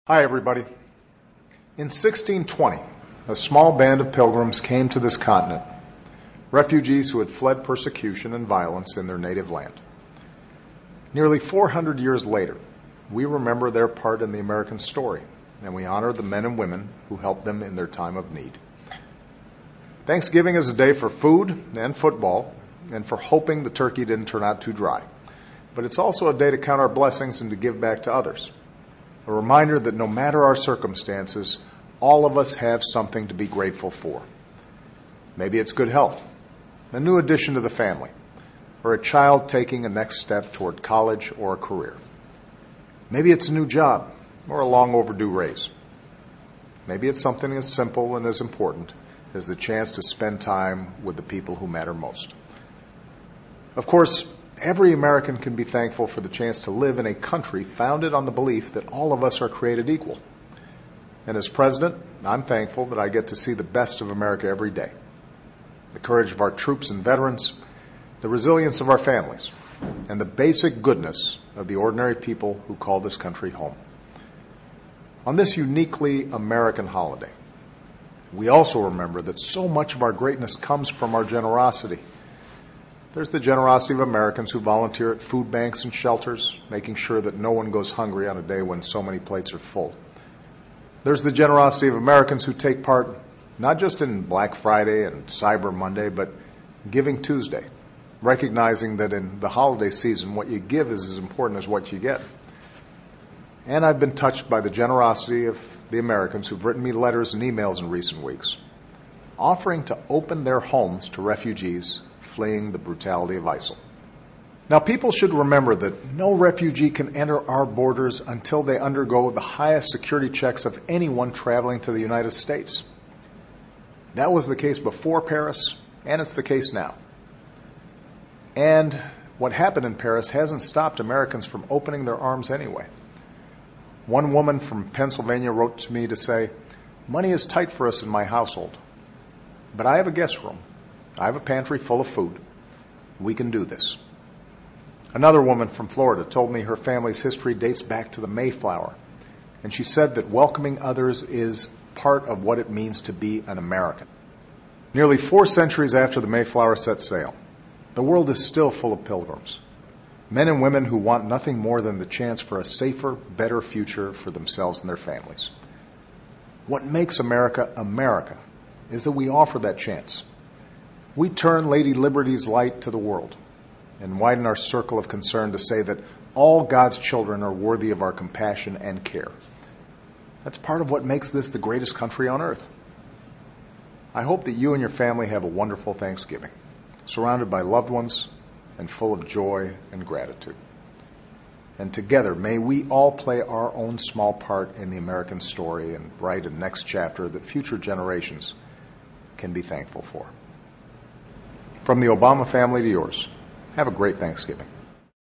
Hi, everybody. In 1620, a small band of pilgrims came to this continent, refugees who had fled persecution and violence in their native land. Nearly 400 years later, we remember their part in the American story, and we honor the men and women who helped them in their time of need. Thanksgiving is a day for food and football, and for hoping the turkey didn't turn out too dry. But it's also a day to count our blessings and to give back to others. A reminder that no matter our circumstances, all of us have something to be grateful for. Maybe it's good health, a new addition to the family, or a child taking a next step toward college or a career. Maybe it's a new job or a long overdue raise. Maybe it's something as simple and as important as the chance to spend time with the people who matter most. Of course, every American can be thankful for the chance to live in a country founded on the belief that all of us are created equal. And as president, I'm thankful that I get to see the best of America every day. The courage of our troops and veterans, the resilience of our families, and the basic goodness of the ordinary people who call this country home. On this uniquely American holiday, we also remember that so much of our greatness comes from our generosity. There's the generosity of Americans who volunteer at food banks and shelters, making sure that no one goes hungry on a day when so many plates are full. There's the generosity of Americans who take part not just in Black Friday and Cyber Monday, but Giving Tuesday, recognizing that in the holiday season, what you give is as important as what you get. And I've been touched by the generosity of the Americans who've written me letters and emails in recent weeks, offering to open their homes to refugees fleeing the brutality of ISIL. Now, people should remember that no refugee can enter our borders until they undergo the highest security checks of anyone traveling to the United States. That was the case before Paris, and it's the case now. And what happened in Paris hasn't stopped Americans from opening their arms anyway. One woman from Pennsylvania wrote to me to say, "Money is tight for us in my household, but I have a guest room. I have a pantry full of food. We can do this." Another woman from Florida told me her family's history dates back to the Mayflower, and she said that welcoming others is part of what it means to be an American. Nearly 4 centuries after the Mayflower set sail, the world is still full of pilgrims, men and women who want nothing more than the chance for a safer, better future for themselves and their families. What makes America America is that we offer that chance. We turn Lady Liberty's light to the world and widen our circle of concern to say that all God's children are worthy of our compassion and care. That's part of what makes this the greatest country on earth. I hope that you and your family have a wonderful Thanksgiving, surrounded by loved ones and full of joy and gratitude. And together, may we all play our own small part in the American story and write a next chapter that future generations can be thankful for. From the Obama family to yours, have a great Thanksgiving.